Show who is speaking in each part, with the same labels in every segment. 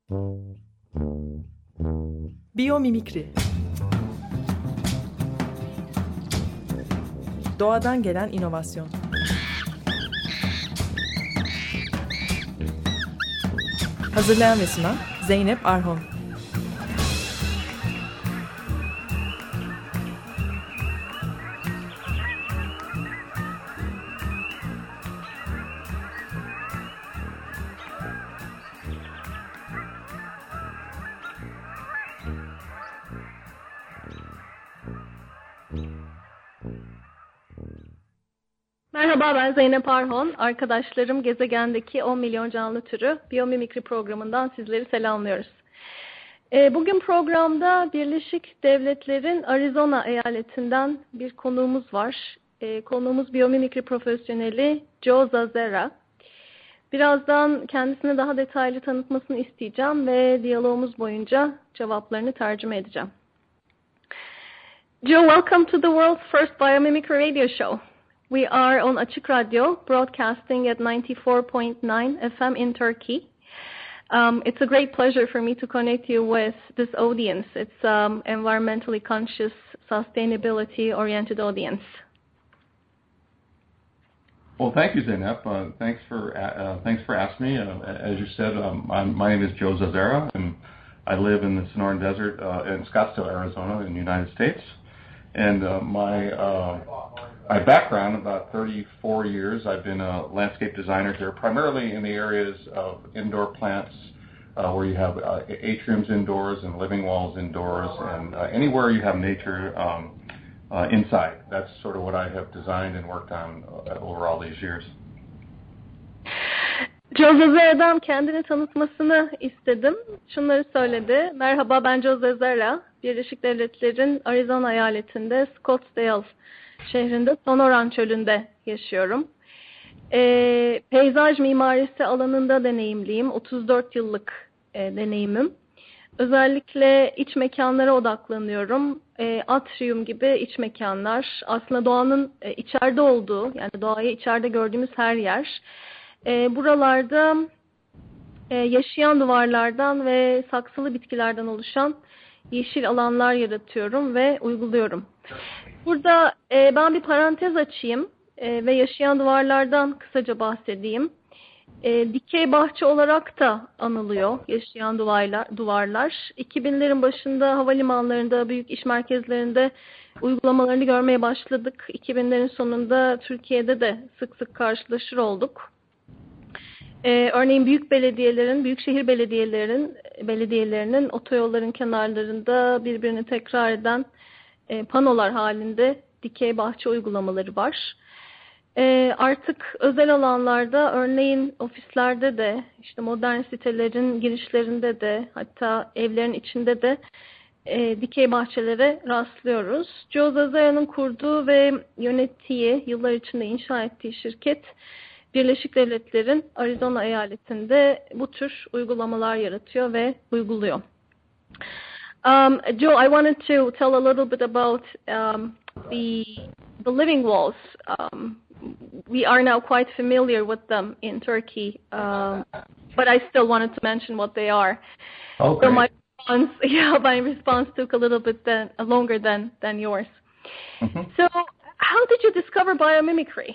Speaker 1: Biyomimikri. Doğadan gelen inovasyon. Hazırlayan ve sunan Zeynep Arhon.
Speaker 2: Merhaba, ben Zeynep Arhon. Arkadaşlarım gezegendeki 10 milyon canlı türü Biyomimikri programından sizleri selamlıyoruz. Bugün programda Birleşik Devletler'in Arizona eyaletinden bir konuğumuz var. Konuğumuz biyomimikri profesyoneli Joe Zazzera. Birazdan kendisini daha detaylı tanıtmasını isteyeceğim ve diyalogumuz boyunca cevaplarını tercüme edeceğim. Joe, welcome to the world's first Biomimicry radio show. We are on Açık Radyo, broadcasting at 94.9 FM in Turkey. It's a great pleasure for me to connect you with this audience. It's environmentally conscious, sustainability-oriented audience.
Speaker 3: Well, thank you, Zeynep. Thanks for asking me. As you said, my name is Joe Zazzera, and I live in the Sonoran Desert in Scottsdale, Arizona, in the United States. And my background, about 34 years, I've been a landscape designer here, primarily in the areas of indoor plants, where you have atriums indoors and living walls indoors, and anywhere you have nature inside. That's sort of what I have designed and worked on over all these years.
Speaker 2: Joe Zazzera'dan kendini tanıtmasını istedim. Şunları söyledi. Merhaba, ben Joe Zazzera. Birleşik Devletler'in Arizona eyaletinde Scottsdale şehrinde Sonoran çölünde yaşıyorum. Peyzaj mimarisi alanında deneyimliyim. 34 yıllık deneyimim. Özellikle iç mekanlara odaklanıyorum. Atrium gibi iç mekanlar. Aslında doğanın içeride olduğu, yani doğayı içeride gördüğümüz her yer. Buralarda yaşayan duvarlardan ve saksılı bitkilerden oluşan yeşil alanlar yaratıyorum ve uyguluyorum. Burada ben bir parantez açayım ve yaşayan duvarlardan kısaca bahsedeyim. Dikey bahçe olarak da anılıyor yaşayan duvarlar. 2000'lerin başında havalimanlarında, büyük iş merkezlerinde uygulamalarını görmeye başladık. 2000'lerin sonunda Türkiye'de de sık sık karşılaşır olduk. Örneğin büyükşehir belediyelerinin otoyolların kenarlarında birbirini tekrar eden panolar halinde dikey bahçe uygulamaları var. Artık özel alanlarda, örneğin ofislerde de, işte modern sitelerin girişlerinde de, hatta evlerin içinde de dikey bahçelere rastlıyoruz. Joe Zazzera'nın kurduğu ve yönettiği, yıllar içinde inşa ettiği şirket, Birleşik Devletler'in Arizona eyaletinde bu tür uygulamalar yaratıyor ve uyguluyor. Joe, I wanted to tell a little bit about the living walls. We are now quite familiar with them in Turkey, but I still wanted to mention what they are.
Speaker 3: Okay.
Speaker 2: So my response took a little bit longer than yours.
Speaker 3: Mm-hmm.
Speaker 2: So, how did you discover biomimicry?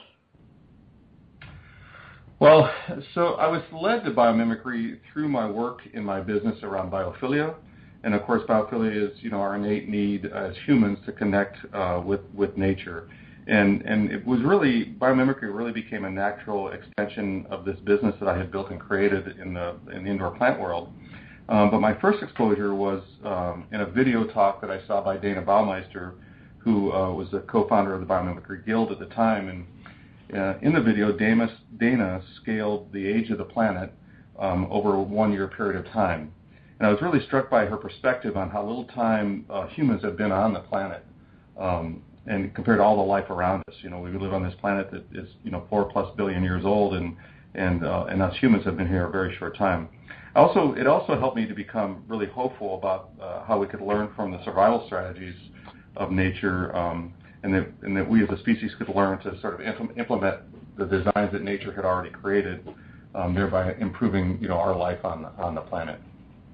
Speaker 3: Well, so I was led to biomimicry through my work in my business around biophilia. And of course, biophilia is, our innate need as humans to connect with nature. And it was really, biomimicry really became a natural extension of this business that I had built and created in the indoor plant world. But my first exposure was in a video talk that I saw by Dana Baumeister, who was the co-founder of the Biomimicry Guild at the time. And in the video, Dana scaled the age of the planet over a 1-year period of time. And I was really struck by her perspective on how little time humans have been on the planet, and compared to all the life around us. We live on this planet that is 4+ billion years old, and us humans have been here a very short time. It also helped me to become really hopeful about how we could learn from the survival strategies of nature, and that we as a species could learn to sort of implement the designs that nature had already created, thereby improving our life on the planet.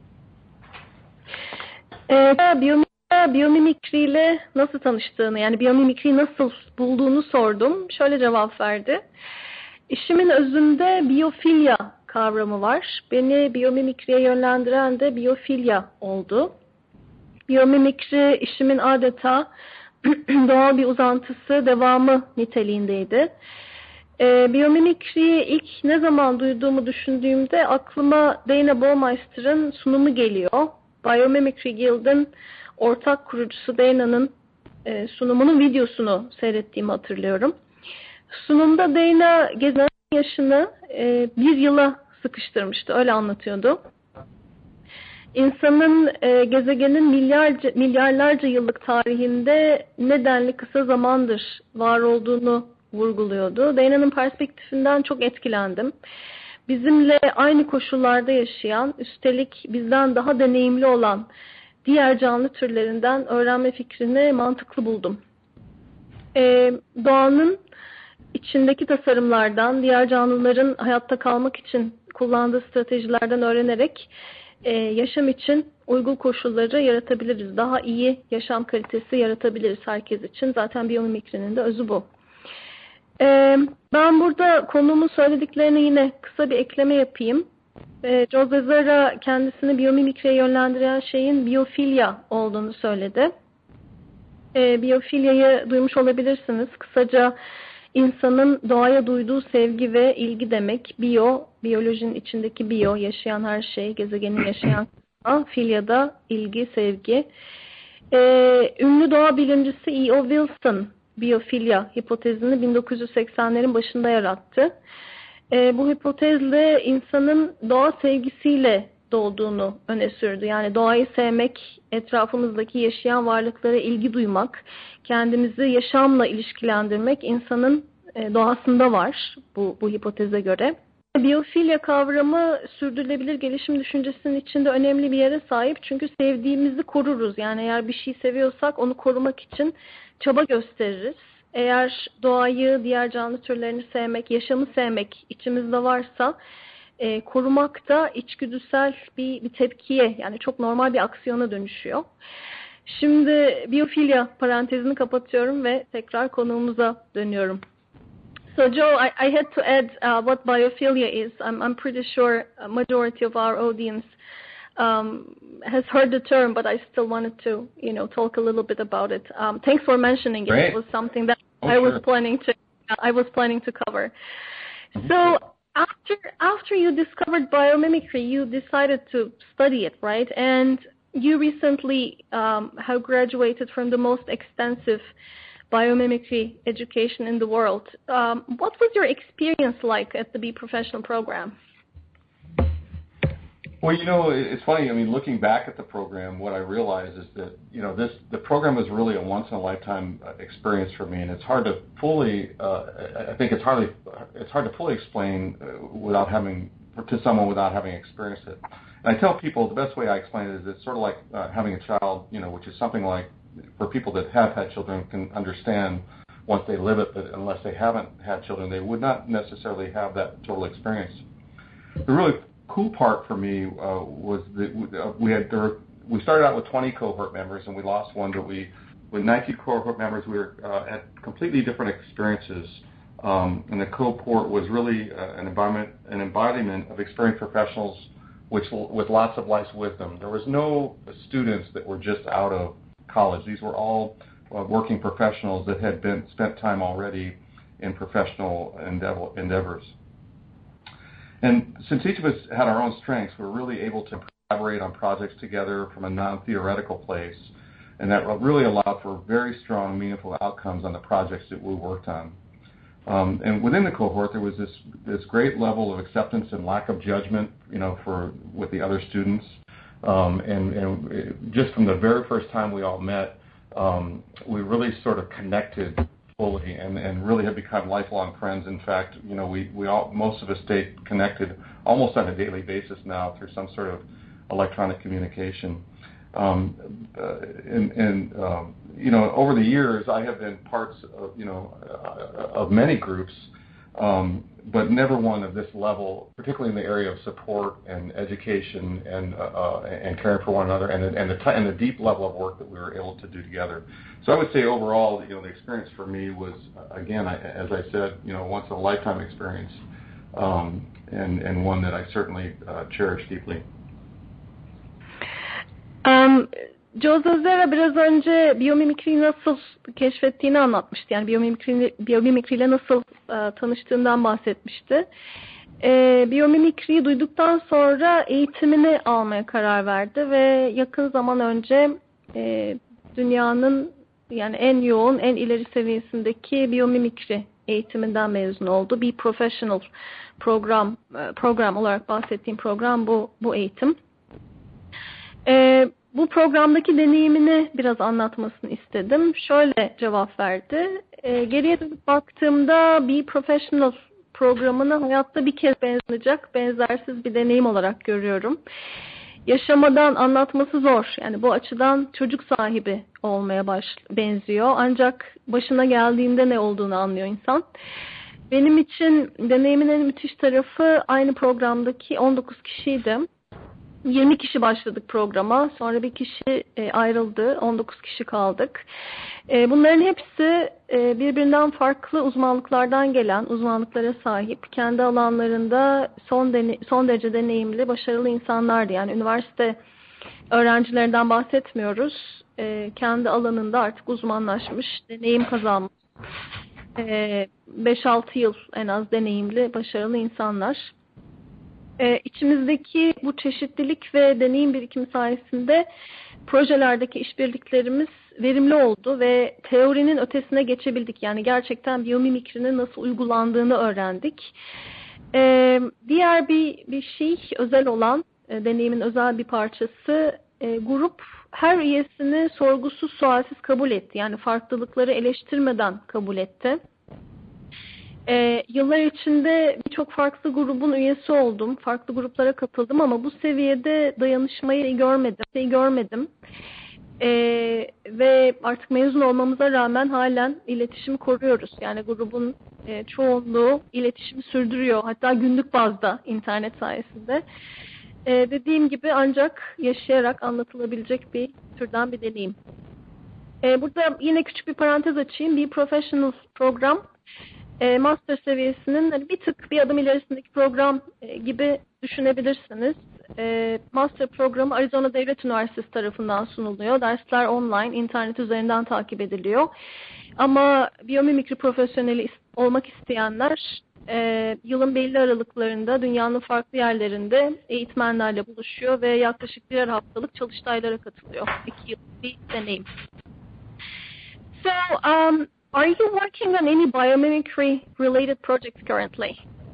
Speaker 2: Biyomimikriyle nasıl tanıştığını, yani biyomimikriyi nasıl bulduğunu sordum. Şöyle cevap verdi. İşimin özünde biyofilya kavramı var. Beni biyomimikriye yönlendiren de biyofilya oldu. Biyomimikri işimin adeta doğal bir uzantısı, devamı niteliğindeydi. Biyomimikriyi ilk ne zaman duyduğumu düşündüğümde aklıma Dana Baumeister'ın sunumu geliyor. Biomimicry Guild'in ortak kurucusu Dana'nın sunumunun videosunu seyrettiğimi hatırlıyorum. Sunumda Dana gezegenin yaşını bir yıla sıkıştırmıştı, öyle anlatıyordu. İnsanın gezegenin milyarlarca yıllık tarihinde nedenli kısa zamandır var olduğunu vurguluyordu. Dana'nın perspektifinden çok etkilendim. Bizimle aynı koşullarda yaşayan, üstelik bizden daha deneyimli olan diğer canlı türlerinden öğrenme fikrini mantıklı buldum. Doğanın içindeki tasarımlardan, diğer canlıların hayatta kalmak için kullandığı stratejilerden öğrenerek yaşam için uygun koşulları yaratabiliriz. Daha iyi yaşam kalitesi yaratabiliriz herkes için. Zaten biyomimikrinin de özü bu. Ben burada konumun söylediklerine yine kısa bir ekleme yapayım. Jose Zara kendisini biyomimikriye yönlendiren şeyin biyofilya olduğunu söyledi. Biyofilyayı duymuş olabilirsiniz. Kısaca insanın doğaya duyduğu sevgi ve ilgi demek. Biyolojinin içindeki biyo, yaşayan her şey, gezegenin yaşayan filya da ilgi, sevgi. Ünlü doğa bilimcisi E.O. Wilson biyofilya hipotezini 1980'lerin başında yarattı. Bu hipotezle insanın doğa sevgisiyle doğduğunu öne sürdü. Yani doğayı sevmek, etrafımızdaki yaşayan varlıklara ilgi duymak, kendimizi yaşamla ilişkilendirmek insanın doğasında var bu hipoteze göre. Biyofilya kavramı sürdürülebilir gelişim düşüncesinin içinde önemli bir yere sahip. Çünkü sevdiğimizi koruruz. Yani eğer bir şey seviyorsak onu korumak için çaba gösteririz. Eğer doğayı, diğer canlı türlerini sevmek, yaşamı sevmek içimizde varsa korumak da içgüdüsel bir tepkiye, yani çok normal bir aksiyona dönüşüyor. Şimdi biyofilya parantezini kapatıyorum ve tekrar konuğumuza dönüyorum. So Joe, I had to add what biophilia is. I'm pretty sure a majority of our audience has heard the term, but I still wanted to, talk a little bit about it. Thanks for mentioning it.
Speaker 3: Great.
Speaker 2: It was something that I
Speaker 3: Sure.
Speaker 2: was planning to cover. So after you discovered biomimicry, you decided to study it, right? And you recently have graduated from the most extensive biomimicry education in the world. What was your experience like at the Be Professional program?
Speaker 3: Well, it's funny. I mean, looking back at the program, what I realized is that the program was really a once in a lifetime experience for me, and it's hard to fully. I think it's hard to fully explain to someone without having experienced it. And I tell people the best way I explain it is it's sort of like having a child, which is something like, for people that have had children can understand once they live it, but unless they haven't had children, they would not necessarily have that total experience. The really cool part for me was that we started out with 20 cohort members and we lost one, but with 19 cohort members we were had completely different experiences, and the cohort was really an embodiment of experienced professionals with lots of life's wisdom. There was no students that were just out of college. These were all working professionals that had spent time already in professional endeavors. And since each of us had our own strengths, we were really able to collaborate on projects together from a non-theoretical place, and that really allowed for very strong, meaningful outcomes on the projects that we worked on. And within the cohort, there was this great level of acceptance and lack of judgment, with the other students. And just from the very first time we all met, we really sort of connected fully and really have become lifelong friends. In fact, most of us stay connected almost on a daily basis now through some sort of electronic communication. Over the years, I have been parts of, of many groups but never one of this level, particularly in the area of support and education and caring for one another, and the deep level of work that we were able to do together. So I would say overall, the experience for me was, again, as I said, once in a lifetime experience, and one that I certainly cherish deeply.
Speaker 2: Joe Zazera biraz önce biyomimikriyi nasıl keşfettiğini anlatmıştı. Yani biyomimikriyle nasıl tanıştığından bahsetmişti. Biyomimikriyi duyduktan sonra eğitimini almaya karar verdi ve yakın zaman önce dünyanın yani en yoğun, en ileri seviyesindeki biyomimikri eğitiminden mezun oldu. Bir professional program olarak bahsettiğim program bu eğitim. Bu programdaki deneyimini biraz anlatmasını istedim. Şöyle cevap verdi. Geriye dönüp baktığımda bir professional programını hayatta bir kez benzersiz bir deneyim olarak görüyorum. Yaşamadan anlatması zor. Yani bu açıdan çocuk sahibi olmaya benziyor. Ancak başına geldiğinde ne olduğunu anlıyor insan. Benim için deneyimin en müthiş tarafı aynı programdaki 19 kişiydi. 20 kişi başladık programa. Sonra bir kişi ayrıldı. 19 kişi kaldık. Bunların hepsi birbirinden farklı uzmanlıklardan gelen, uzmanlıklara sahip, kendi alanlarında son derece deneyimli, başarılı insanlardı. Yani üniversite öğrencilerinden bahsetmiyoruz. Kendi alanında artık uzmanlaşmış, deneyim kazanmış. 5-6 yıl en az deneyimli, başarılı insanlar. İçimizdeki bu çeşitlilik ve deneyim birikimi sayesinde projelerdeki işbirliklerimiz verimli oldu ve teorinin ötesine geçebildik. Yani gerçekten biyomimikrinin nasıl uygulandığını öğrendik. Diğer bir şey, özel olan, deneyimin özel bir parçası, grup her üyesini sorgusuz sualsiz kabul etti. Yani farklılıkları eleştirmeden kabul etti. Yıllar içinde birçok farklı grubun üyesi oldum. Farklı gruplara katıldım ama bu seviyede dayanışmayı görmedim. Ve artık mezun olmamıza rağmen halen iletişimi koruyoruz. Yani grubun çoğunluğu iletişimi sürdürüyor. Hatta günlük bazda internet sayesinde. Dediğim gibi ancak yaşayarak anlatılabilecek bir türden bir deneyim. Burada yine küçük bir parantez açayım. Bir professional program. Master seviyesinin bir adım ilerisindeki program gibi düşünebilirsiniz. Master programı Arizona Devlet Üniversitesi tarafından sunuluyor. Dersler online, internet üzerinden takip ediliyor. Ama biyomimikri profesyoneli olmak isteyenler yılın belli aralıklarında dünyanın farklı yerlerinde eğitmenlerle buluşuyor ve yaklaşık 1 haftalık çalıştaylara katılıyor. 2 yıllık bir deneyim. So, are you working on any biomimicry-related projects currently?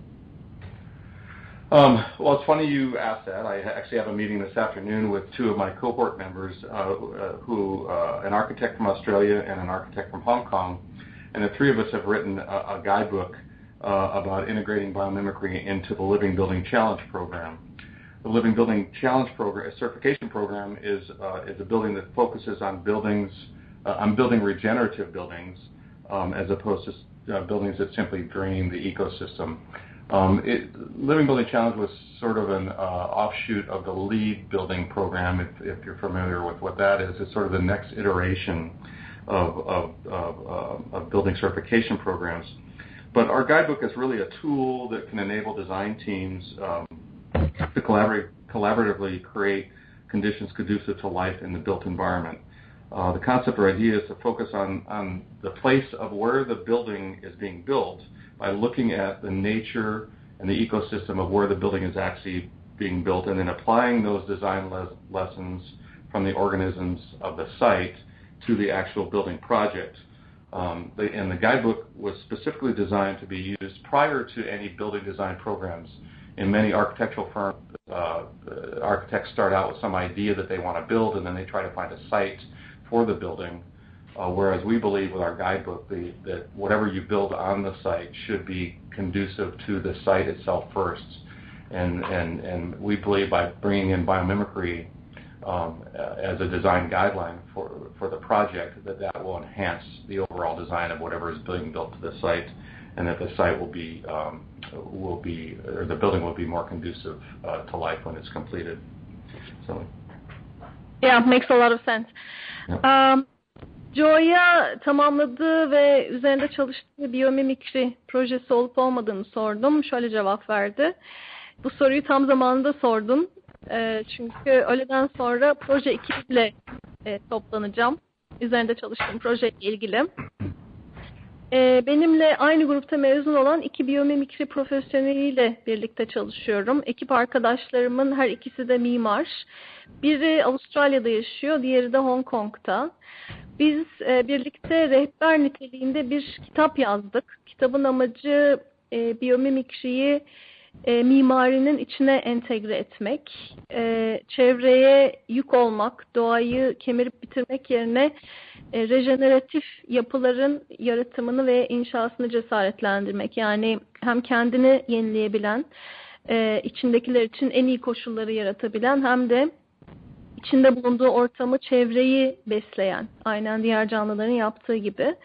Speaker 3: Well, it's funny you asked that. I actually have a meeting this afternoon with 2 of my cohort members, an architect from Australia and an architect from Hong Kong, and the 3 of us have written a guidebook about integrating biomimicry into the Living Building Challenge program. The Living Building Challenge program, certification program, is a building that focuses on building regenerative buildings. As opposed to buildings that simply drain the ecosystem. Living Building Challenge was sort of an offshoot of the LEED building program, if you're familiar with what that is. It's sort of the next iteration of building certification programs. But our guidebook is really a tool that can enable design teams to collaboratively create conditions conducive to life in the built environment. The concept or idea is to focus on the place of where the building is being built by looking at the nature and the ecosystem of where the building is actually being built, and then applying those design lessons from the organisms of the site to the actual building project. And the guidebook was specifically designed to be used prior to any building design programs. In many architectural firms, architects start out with some idea that they want to build, and then they try to find a site for the building, whereas we believe with our guidebook that whatever you build on the site should be conducive to the site itself first. And we believe by bringing in biomimicry as a design guideline for the project, that will enhance the overall design of whatever is being built to the site and that the site will be or the building will be more conducive to life when it's completed. So.
Speaker 2: Yeah, makes a lot of sense.
Speaker 3: Yeah.
Speaker 2: Joe'ya tamamladığı ve üzerinde çalıştığı biyomimikri projesi olup olmadığını sordum. Şöyle cevap verdi. Bu soruyu tam zamanında sordun. Çünkü öğleden sonra proje ekibiyle toplanacağım. Üzerinde çalıştığım projeyle ilgili. Benimle aynı grupta mezun olan 2 biyomimikri profesyoneliyle birlikte çalışıyorum. Ekip arkadaşlarımın her ikisi de mimar. Biri Avustralya'da yaşıyor, diğeri de Hong Kong'ta. Biz birlikte rehber niteliğinde bir kitap yazdık. Kitabın amacı biyomimikriyi mimarinin içine entegre etmek, çevreye yük olmak, doğayı kemirip bitirmek yerine rejeneratif yapıların yaratımını ve inşasını cesaretlendirmek. Yani hem kendini yenileyebilen, içindekiler için en iyi koşulları yaratabilen hem de içinde bulunduğu ortamı, çevreyi besleyen, aynen diğer canlıların yaptığı gibi.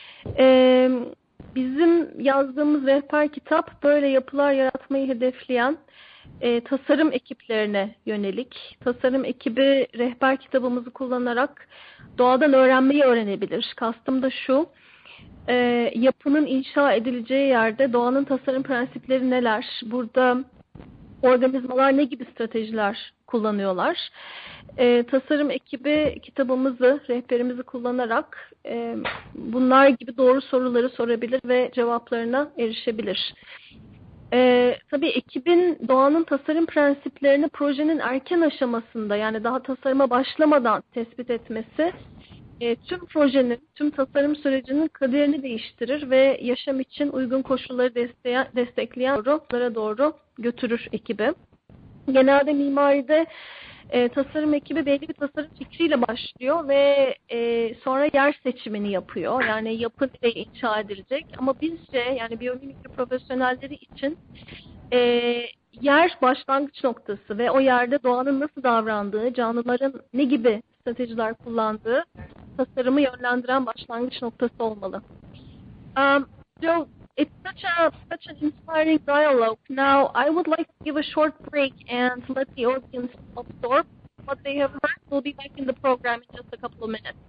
Speaker 2: Bizim yazdığımız rehber kitap böyle yapılar yaratmayı hedefleyen tasarım ekiplerine yönelik. Tasarım ekibi rehber kitabımızı kullanarak doğadan öğrenmeyi öğrenebilir. Kastım da şu, yapının inşa edileceği yerde doğanın tasarım prensipleri neler? Burada organizmalar ne gibi stratejiler kullanıyorlar? Tasarım ekibi kitabımızı, rehberimizi kullanarak bunlar gibi doğru soruları sorabilir ve cevaplarına erişebilir. Tabii ekibin doğanın tasarım prensiplerini projenin erken aşamasında, yani daha tasarıma başlamadan tespit etmesi tüm projenin, tüm tasarım sürecinin kaderini değiştirir ve yaşam için uygun koşulları destekleyen yollara doğru götürür ekibi. Genelde mimaride tasarım ekibi belli bir tasarım fikriyle başlıyor ve sonra yer seçimini yapıyor. Yani yapı nereye inşa edilecek. Ama bizce, yani biyomimikri profesyonelleri için yer başlangıç noktası ve o yerde doğanın nasıl davrandığı, canlıların ne gibi stratejiler kullandığı tasarımı yönlendiren başlangıç noktası olmalı. Joe, it's such an inspiring dialogue. Now, I would like to give a short break and let the audience absorb what they have heard. We'll be back in the program in just a couple of minutes.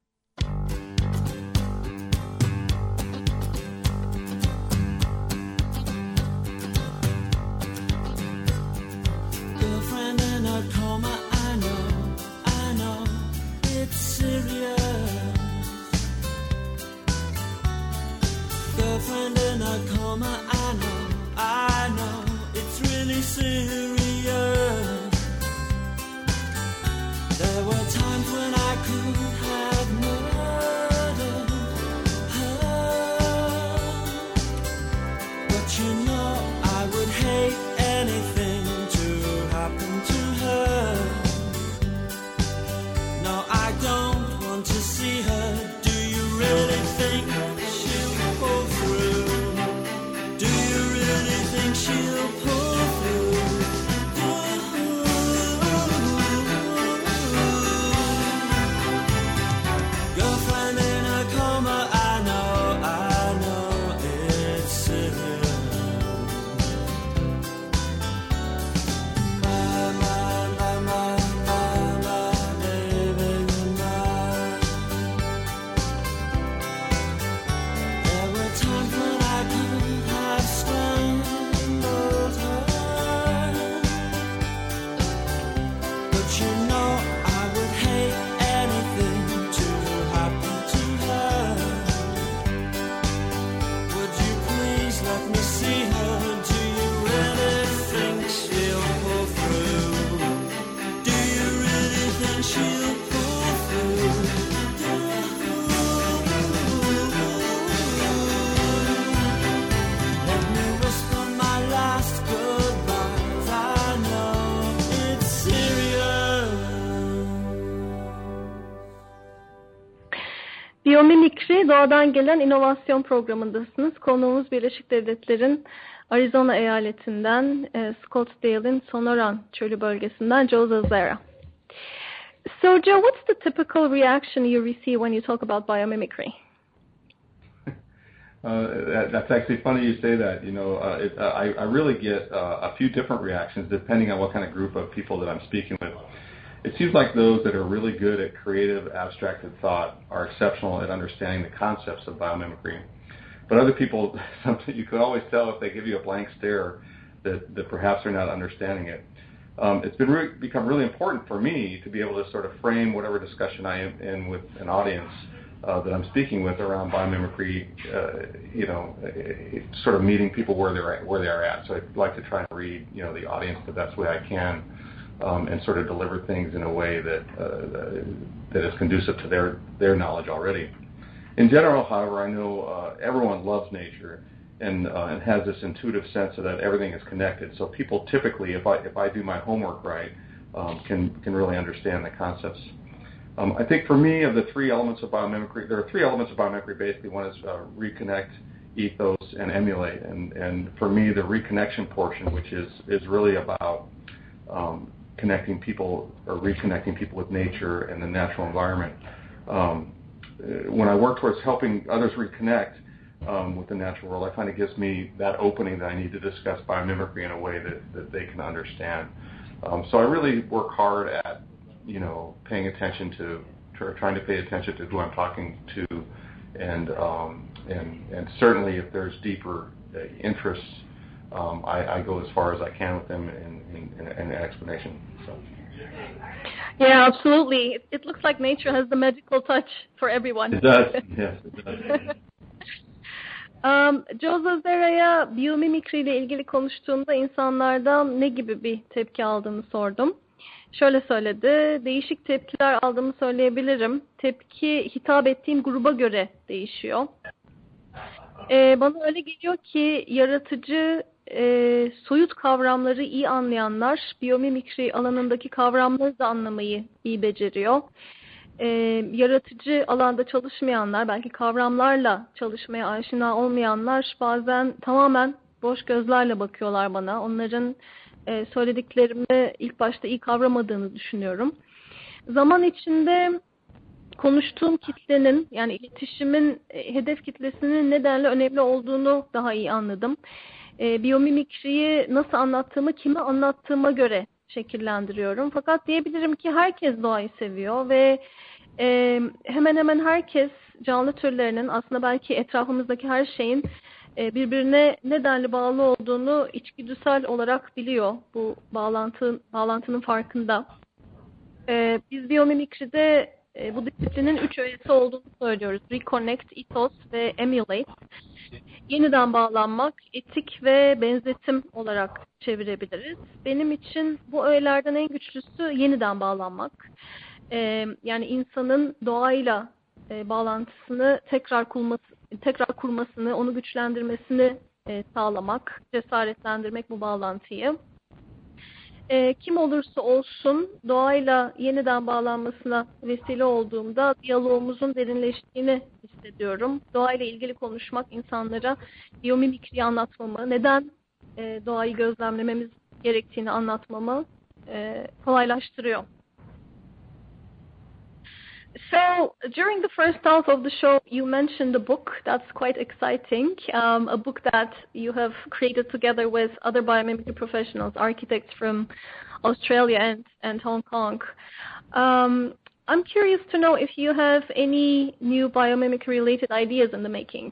Speaker 4: Girlfriend in a coma, I know, it's serious. Girlfriend in a coma, I know, it's really serious. There were times when I could have murdered her, but you know I would hate anything to happen to her. No, I don't want to see her. Do you really think she'll pull through? Do you really think she'll pull through? Girlfriend in a coma, I know it's serious. My baby goodnight. There were times when I could have strangled her, but you know I would hate anything to happen to her. Would you please let me see her? Do you really think she'll pull through? Do you really think she'll pull through? Let me whisper my last goodbyes. I know it's serious.
Speaker 2: Biyomimikri Doğadan Gelen İnovasyon programındasınız. Konuğumuz Birleşik Devletler'in Arizona eyaletinden, Scottsdale'in Sonoran Çölü bölgesinden Joe Zazzara. So Joe, what's the typical reaction you receive when you talk about biomimicry?
Speaker 3: That's actually funny you say that. I really get a few different reactions depending on what kind of group of people that I'm speaking with. It seems like those that are really good at creative, abstracted thought are exceptional at understanding the concepts of biomimicry. But other people, you can always tell if they give you a blank stare that perhaps they're not understanding it. It's become really important for me to be able to sort of frame whatever discussion I am in with an audience that I'm speaking with around biomimicry, sort of meeting people where they're at. So I like to try and read, the audience the best way I can, and sort of deliver things in a way that is conducive to their knowledge already. In general, however, I know everyone loves nature and has this intuitive sense that everything is connected. So people typically, if I do my homework right, can really understand the concepts. I think for me, of the three elements of biomimicry, there are three elements of biomimicry. Basically, one is reconnect, ethos, and emulate. And for me, the reconnection portion, which is really about connecting people or reconnecting people with nature and the natural environment. When I work towards helping others reconnect with the natural world, I find it gives me that opening that I need to discuss biomimicry in a way that they can understand. So I really work hard at paying attention to, trying to pay attention to who I'm talking to, and certainly if there's deeper interests, I go as far as I can with them in an explanation. So.
Speaker 2: Yeah, absolutely. It looks like nature has the magical touch for everyone.
Speaker 3: It does. Yes, it does.
Speaker 2: Joe Zazera'ya biyomimikri ile ilgili konuştuğumda insanlardan ne gibi bir tepki aldığını sordum. Şöyle söyledi, değişik tepkiler aldığımı söyleyebilirim. Tepki hitap ettiğim gruba göre değişiyor. Bana öyle geliyor ki yaratıcı, soyut kavramları iyi anlayanlar, biyomimikri alanındaki kavramları da anlamayı iyi beceriyor. Yaratıcı alanda çalışmayanlar, belki kavramlarla çalışmaya aşina olmayanlar bazen tamamen boş gözlerle bakıyorlar bana. Onların söylediklerimi ilk başta iyi kavramadığını düşünüyorum. Zaman içinde konuştuğum kitlenin, yani iletişimin hedef kitlesinin nedenle önemli olduğunu daha iyi anladım. Biyomimikriyi nasıl anlattığımı, kime anlattığıma göre şekillendiriyorum. Fakat diyebilirim ki herkes doğayı seviyor ve hemen hemen herkes canlı türlerinin, aslında belki etrafımızdaki her şeyin birbirine nedenli bağlı olduğunu içgüdüsel olarak biliyor. Bu bağlantının farkında. Biz biyomimikride bu disiplinin 3 öğesi olduğunu söylüyoruz. Reconnect, ethos ve emulate. Yeniden bağlanmak, etik ve benzetim olarak çevirebiliriz. Benim için bu öğelerden en güçlüsü yeniden bağlanmak. Yani insanın doğayla bağlantısını tekrar kurmasını, onu güçlendirmesini sağlamak, cesaretlendirmek bu bağlantıyı. Kim olursa olsun doğayla yeniden bağlanmasına vesile olduğumda diyalogumuzun derinleştiğini hissediyorum. Doğayla ilgili konuşmak insanlara biyomimikriyi anlatmamı, neden doğayı gözlemlememiz gerektiğini anlatmamı kolaylaştırıyor. So, during the first half of the show, you mentioned a book that's quite exciting, a book that you have created together with other biomimicry professionals, architects from Australia and Hong Kong. I'm curious to know if you have any new biomimicry-related ideas in the making.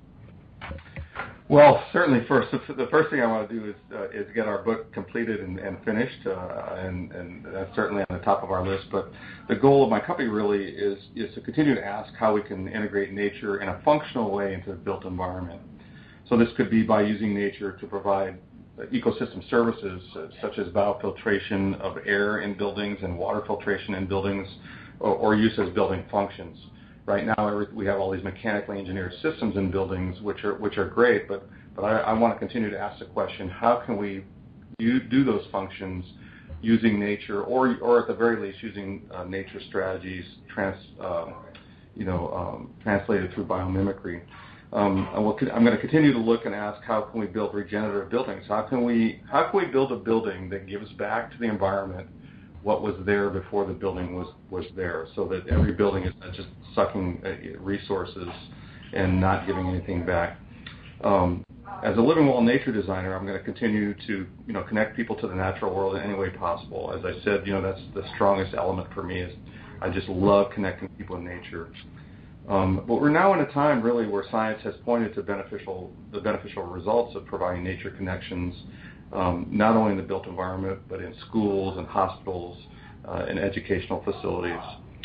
Speaker 3: Well, certainly the first thing I want to do is get our book completed and finished, and that's certainly on the top of our list. But the goal of my company really is to continue to ask how we can integrate nature in a functional way into the built environment. So this could be by using nature to provide ecosystem services such as biofiltration of air in buildings and water filtration in buildings, or use as building functions. Right now, we have all these mechanically engineered systems in buildings, which are great, but I want to continue to ask the question: how can we do those functions using nature, or at the very least using nature strategies translated through biomimicry? I'm going to continue to look and ask: how can we build regenerative buildings? How can we build a building that gives back to the environment what was there before the building was there, so that every building is not just sucking resources and not giving anything back. As a living well nature designer, I'm going to continue to, connect people to the natural world in any way possible. As I said, that's the strongest element for me is I just love connecting people with nature. But we're now in a time really where science has pointed to the beneficial results of providing nature connections, not only in the built environment, but in schools and hospitals and educational facilities.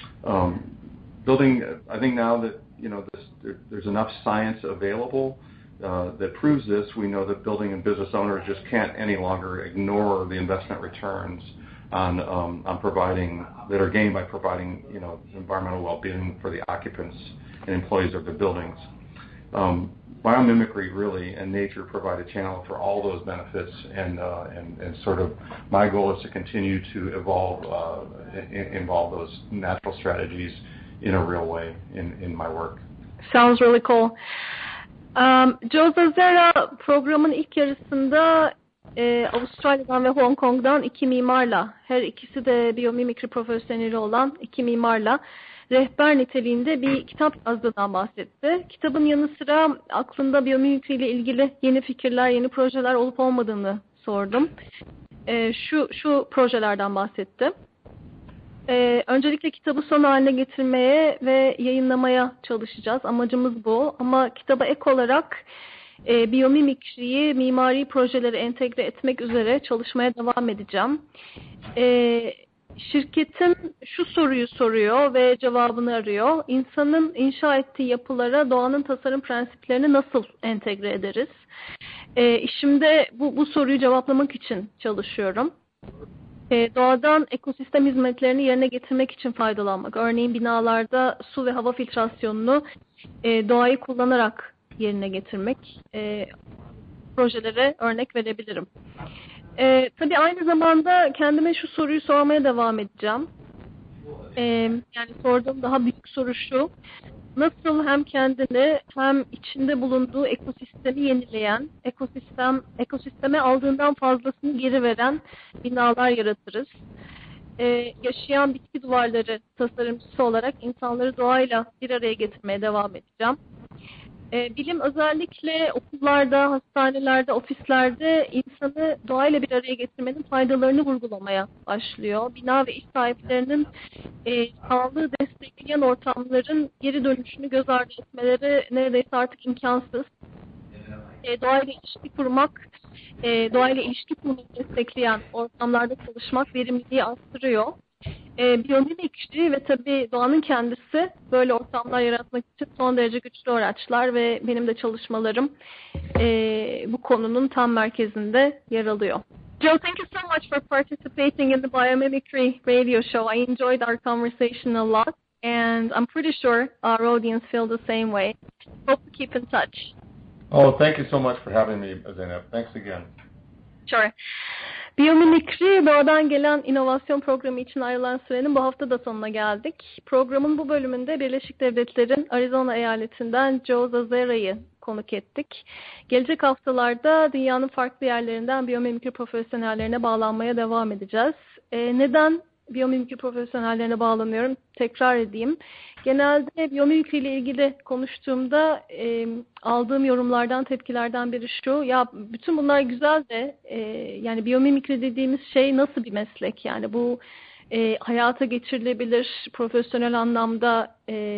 Speaker 3: I think now that, there's enough science available that proves this. We know that building and business owners just can't any longer ignore the investment returns on providing that are gained by providing environmental well-being for the occupants and employees of the buildings. Biomimicry really and nature provide a channel for all those benefits, and sort of my goal is to continue to involve those natural strategies in a real way in my work.
Speaker 2: Sounds really cool. Joe Zazera programın ilk yarısında Avustralya'dan ve Hong Kong'dan iki mimarla, her ikisi de biyomimikri profesyoneli olan iki mimarla rehber niteliğinde bir kitap yazdığından bahsetti. Kitabın yanı sıra aklında biyomimikri ile ilgili yeni fikirler, yeni projeler olup olmadığını sordum. Şu projelerden bahsetti. Öncelikle kitabı son haline getirmeye ve yayınlamaya çalışacağız. Amacımız bu. Ama kitaba ek olarak biyomimikriyi mimari projelere entegre etmek üzere çalışmaya devam edeceğim. Şirketim şu soruyu soruyor ve cevabını arıyor. İnsanın inşa ettiği yapılara doğanın tasarım prensiplerini nasıl entegre ederiz? Şimdi bu soruyu cevaplamak için çalışıyorum. Doğadan ekosistem hizmetlerini yerine getirmek için faydalanmak. Örneğin binalarda su ve hava filtrasyonunu doğayı kullanarak yerine getirmek. Projelere örnek verebilirim. Tabii aynı zamanda kendime şu soruyu sormaya devam edeceğim. Yani sorduğum daha büyük soru şu. Nasıl hem kendini hem içinde bulunduğu ekosistemi yenileyen, ekosisteme aldığından fazlasını geri veren binalar yaratırız? Yaşayan bitki duvarları tasarımcısı olarak insanları doğayla bir araya getirmeye devam edeceğim. Bilim özellikle okullarda, hastanelerde, ofislerde insanı doğayla bir araya getirmenin faydalarını vurgulamaya başlıyor. Bina ve iş sahiplerinin sağlığı destekleyen ortamların geri dönüşünü göz ardı etmeleri neredeyse artık imkansız. Doğayla ilişki kurmak, doğayla ilişki kurmayı destekleyen ortamlarda çalışmak verimliliği arttırıyor. Biyomimikri ve tabii doğanın kendisi böyle ortamlar yaratmak için son derece güçlü araçlar ve benim de çalışmalarım bu konunun tam merkezinde yer alıyor. Joe, thank you so much for participating in the Biomimicry radio show. I enjoyed our conversation a lot, and I'm pretty sure our audience feel the same way. Hope to keep in touch.
Speaker 3: Oh, thank you so much for having me, Zeynep. Thanks again.
Speaker 2: Sure. Biyomimikri, Doğadan Gelen İnovasyon Programı için ayrılan sürenin bu hafta da sonuna geldik. Programın bu bölümünde Birleşik Devletler'in Arizona eyaletinden Joe Zazera'yı konuk ettik. Gelecek haftalarda dünyanın farklı yerlerinden biyomimikri profesyonellerine bağlanmaya devam edeceğiz. Neden biyomimikri profesyonellerine bağlanıyorum? Tekrar edeyim. Genelde biyomimikri ile ilgili konuştuğumda aldığım yorumlardan, tepkilerden biri şu: ya bütün bunlar güzel de yani biyomimikri dediğimiz şey nasıl bir meslek? Yani bu hayata geçirilebilir, profesyonel anlamda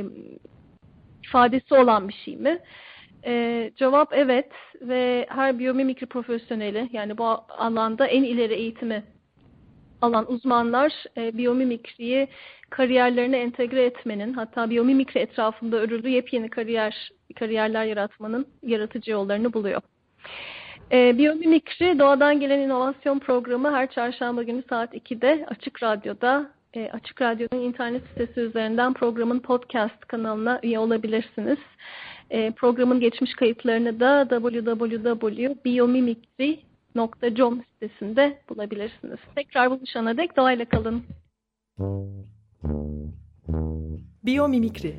Speaker 2: ifadesi olan bir şey mi? Cevap evet ve her biyomimikri profesyoneli, yani bu alanda en ileri eğitimi alan uzmanlar biyomimikriyi kariyerlerine entegre etmenin, hatta biyomimikri etrafında örülü yepyeni kariyerler yaratmanın yaratıcı yollarını buluyor. Biyomimikri Doğadan Gelen İnovasyon Programı her çarşamba günü saat 2'de Açık Radyo'da, Açık Radyo'nun internet sitesi üzerinden programın podcast kanalına üye olabilirsiniz. Programın geçmiş kayıtlarını da www.biomimikri.com sitesinde bulabilirsiniz. Tekrar buluşana dek doğayla kalın.
Speaker 1: Biyomimikri.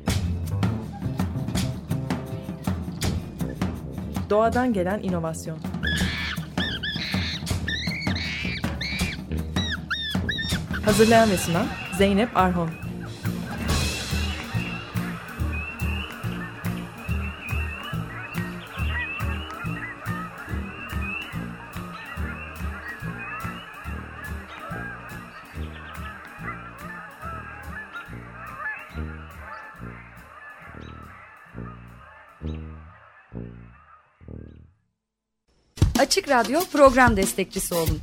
Speaker 1: Doğadan gelen inovasyon. Hazırlayan ve sunan Zeynep Arhon.
Speaker 5: Açık Radyo program destekçisi olun.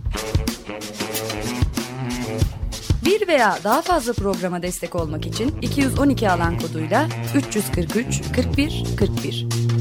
Speaker 5: Bir veya daha fazla programa destek olmak için 212 alan koduyla 343 41 41.